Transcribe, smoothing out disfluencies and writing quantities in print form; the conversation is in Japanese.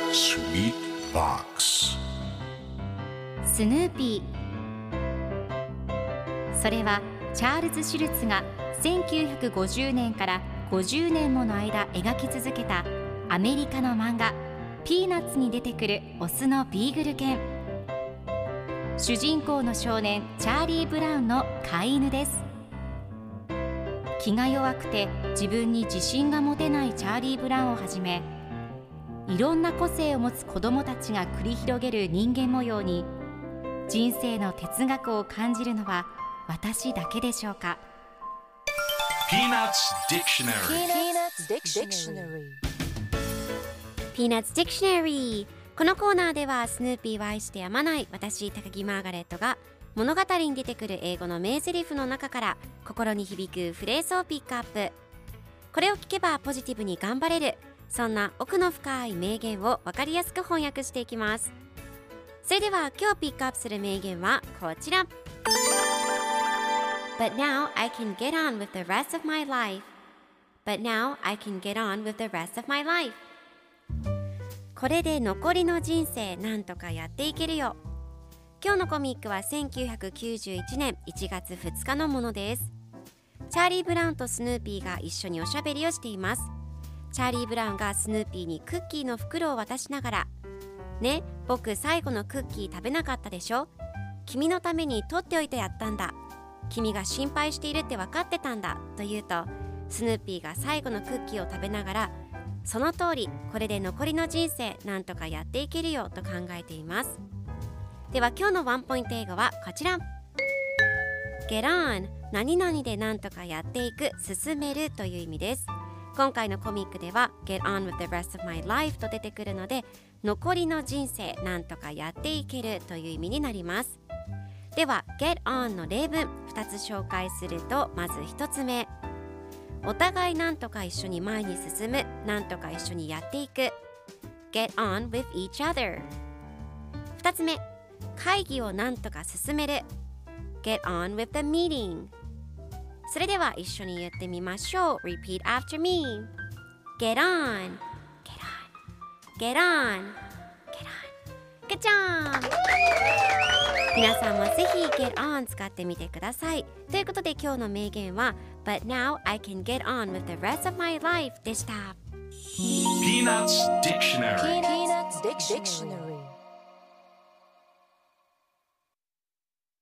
Sweet Box スヌーピー。それはチャールズ・シュルツが1950年から50年もの間描き続けたアメリカの漫画ピーナッツに出てくるオスのビーグル犬。主人公の少年チャーリー・ブラウンの飼い犬です。気が弱くて自分に自信が持てないチャーリー・ブラウンをはじめ、いろんな個性を持つ子どもたちが繰り広げる人間模様に人生の哲学を感じるのは私だけでしょうか。 Peanuts Dictionary Peanuts Dictionary。 このコーナーではスヌーピーを愛してやまない私高木マーガレットが物語に出てくる英語の名台詞の中から心に響くフレーズをピックアップ。これを聞けばポジティブに頑張れる、そんな奥の深い名言を分かりやすく翻訳していきます。それでは今日ピックアップする名言はこちら。 But now I can get on with the rest of my life. But now I can get on with the rest of my life. これで残りの人生なんとかやっていけるよ。今日のコミックは1991年1月2日のものです。チャーリー・ブラウンとスヌーピーが一緒におしゃべりをしています。チャーリー・ブラウンがスヌーピーにクッキーの袋を渡しながら、ね、僕最後のクッキー食べなかったでしょ。君のために取っておいてやったんだ。君が心配しているって分かってたんだと言うと、スヌーピーが最後のクッキーを食べながら、その通り、これで残りの人生なんとかやっていけるよと考えています。では今日のワンポイント英語はこちら。 Get on、 何々でなんとかやっていく、進めるという意味です。今回のコミックでは Get on with the rest of my life と出てくるので、残りの人生なんとかやっていけるという意味になります。では Get on の例文2つ紹介すると、まず1つ目、お互いなんとか一緒に前に進む、なんとか一緒にやっていく。 Get on with each other。 2つ目、会議をなんとか進める。 Get on with the meeting。 それでは一緒に言ってみましょう。 Repeat after me。 Get on Get on Get on Good job。 皆さんもぜひ Get on 使ってみてください。ということで今日の名言は But now I can get on with the rest of my life でした。 Peanuts Dictionary Peanuts Dictionary